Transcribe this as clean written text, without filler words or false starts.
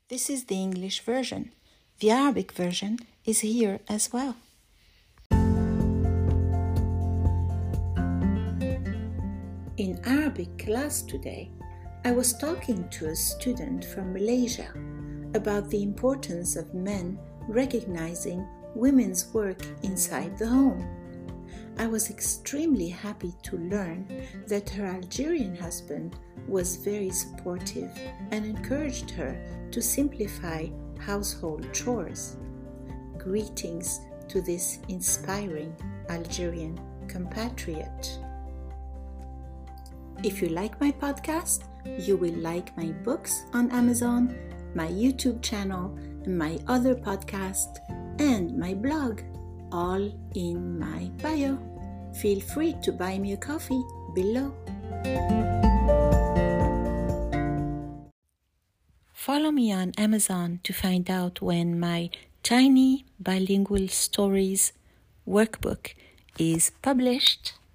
This is the English version. The Arabic version is here as well. In Arabic class today, I was talking to a student from Malaysia about the importance of men recognizing women's work inside the home. I was extremely happy to learn that her Algerian husband was very supportive and encouraged her to simplify household chores. Greetings to this inspiring Algerian compatriot. If you like my podcast, you will like my books on Amazon, my YouTube channel, my other podcast, and my blog, all in my bio. Feel free to buy me a coffee below. Follow me on Amazon to find out when my Tiny Bilingual Stories workbook is published.